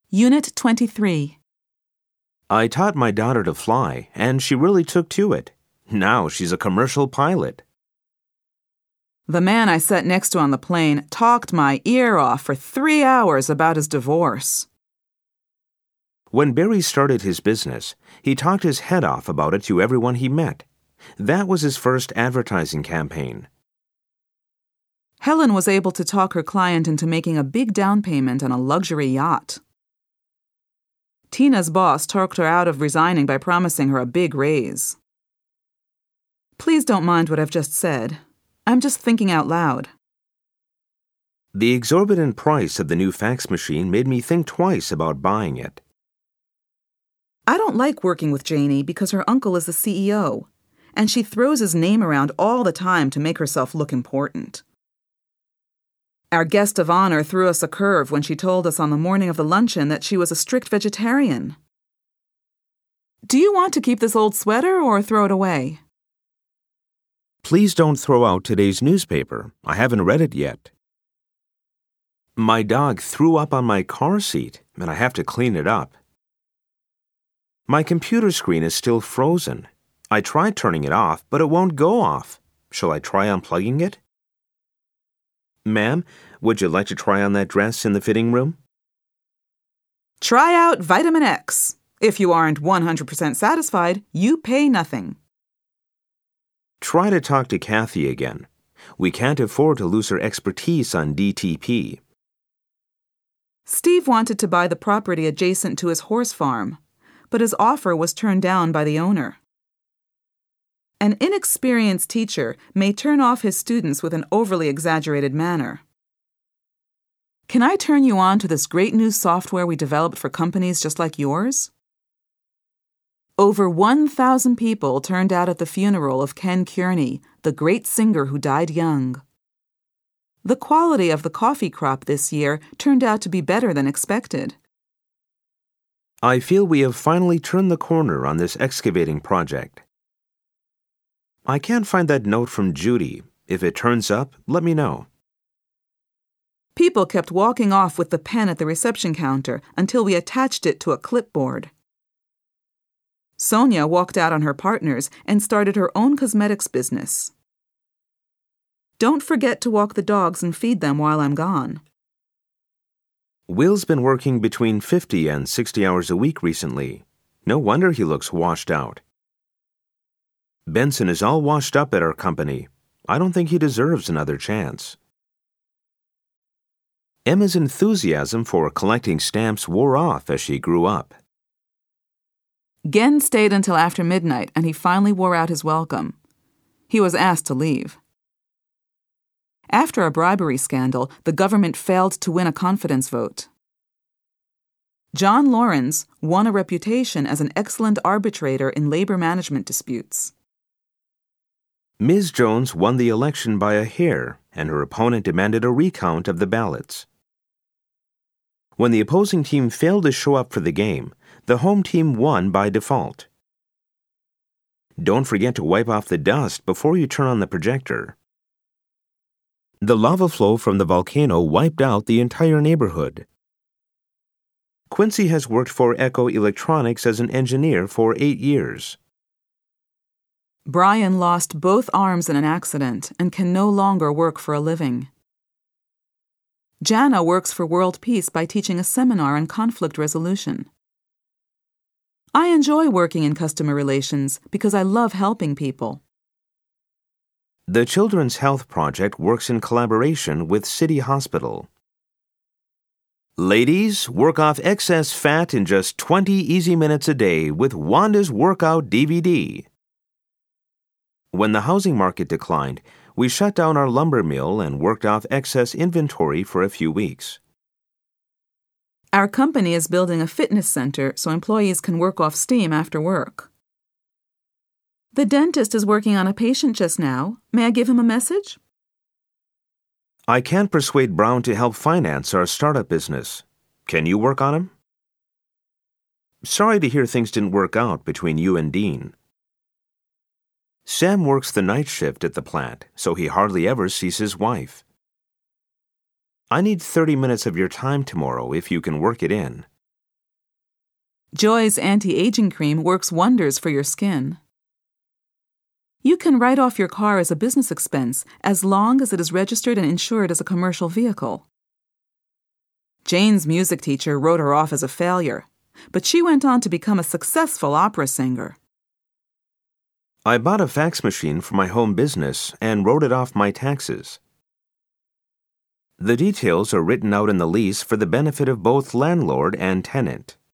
Unit 23. I taught my daughter to fly, and she really took to it. Now she's a commercial pilot. The man I sat next to on the plane talked my ear off for 3 hours about his divorce. When Barry started his business, he talked his head off about it to everyone he met. That was his first advertising campaign. Helen was able to talk her client into making a big down payment on a luxury yacht. Tina's boss talked her out of resigning by promising her a big raise. Please don't mind what I've just said. I'm just thinking out loud. The exorbitant price of the new fax machine made me think twice about buying it. I don't like working with Janie because her uncle is the CEO, and she throws his name around all the time to make herself look important. Our guest of honor threw us a curve when she told us on the morning of the luncheon that she was a strict vegetarian. Do you want to keep this old sweater or throw it away? Please don't throw out today's newspaper. I haven't read it yet. My dog threw up on my car seat, and I have to clean it up. My computer screen is still frozen. I tried turning it off, but it won't go off. Shall I try unplugging it? Ma'am, would you like to try on that dress in the fitting room? Try out Vitamin X. If you aren't 100% satisfied, you pay nothing. Try to talk to Kathy again. We can't afford to lose her expertise on DTP. Steve wanted to buy the property adjacent to his horse farm, but his offer was turned down by the owner. An inexperienced teacher may turn off his students with an overly exaggerated manner. Can I turn you on to this great new software we developed for companies just like yours? Over 1,000 people turned out at the funeral of Ken Kearney, the great singer who died young. The quality of the coffee crop this year turned out to be better than expected. I feel we have finally turned the corner on this excavating project. I can't find that note from Judy. If it turns up, let me know. People kept walking off with the pen at the reception counter until we attached it to a clipboard. Sonia walked out on her partners and started her own cosmetics business. Don't forget to walk the dogs and feed them while I'm gone. Will's been working between 50 and 60 hours a week recently. No wonder he looks washed out. Benson is all washed up at our company. I don't think he deserves another chance. Emma's enthusiasm for collecting stamps wore off as she grew up. Gen stayed until after midnight, and he finally wore out his welcome. He was asked to leave. After a bribery scandal, the government failed to win a confidence vote. John Lawrence won a reputation as an excellent arbitrator in labor management disputes. Ms. Jones won the election by a hair, and her opponent demanded a recount of the ballots. When the opposing team failed to show up for the game, the home team won by default. Don't forget to wipe off the dust before you turn on the projector. The lava flow from the volcano wiped out the entire neighborhood. Quincy has worked for Echo Electronics as an engineer for 8 years. Brian lost both arms in an accident and can no longer work for a living. Jana works for World Peace by teaching a seminar on conflict resolution. I enjoy working in customer relations because I love helping people. The Children's Health Project works in collaboration with City Hospital. Ladies, work off excess fat in just 20 easy minutes a day with Wanda's Workout DVD. When the housing market declined, we shut down our lumber mill and worked off excess inventory for a few weeks. Our company is building a fitness center so employees can work off steam after work. The dentist is working on a patient just now. May I give him a message? I can't persuade Brown to help finance our startup business. Can you work on him? Sorry to hear things didn't work out between you and Dean. Sam works the night shift at the plant, so he hardly ever sees his wife. I need 30 minutes of your time tomorrow if you can work it in. Joy's anti-aging cream works wonders for your skin. You can write off your car as a business expense as long as it is registered and insured as a commercial vehicle. Jane's music teacher wrote her off as a failure, but she went on to become a successful opera singer. I bought a fax machine for my home business and wrote it off my taxes. The details are written out in the lease for the benefit of both landlord and tenant.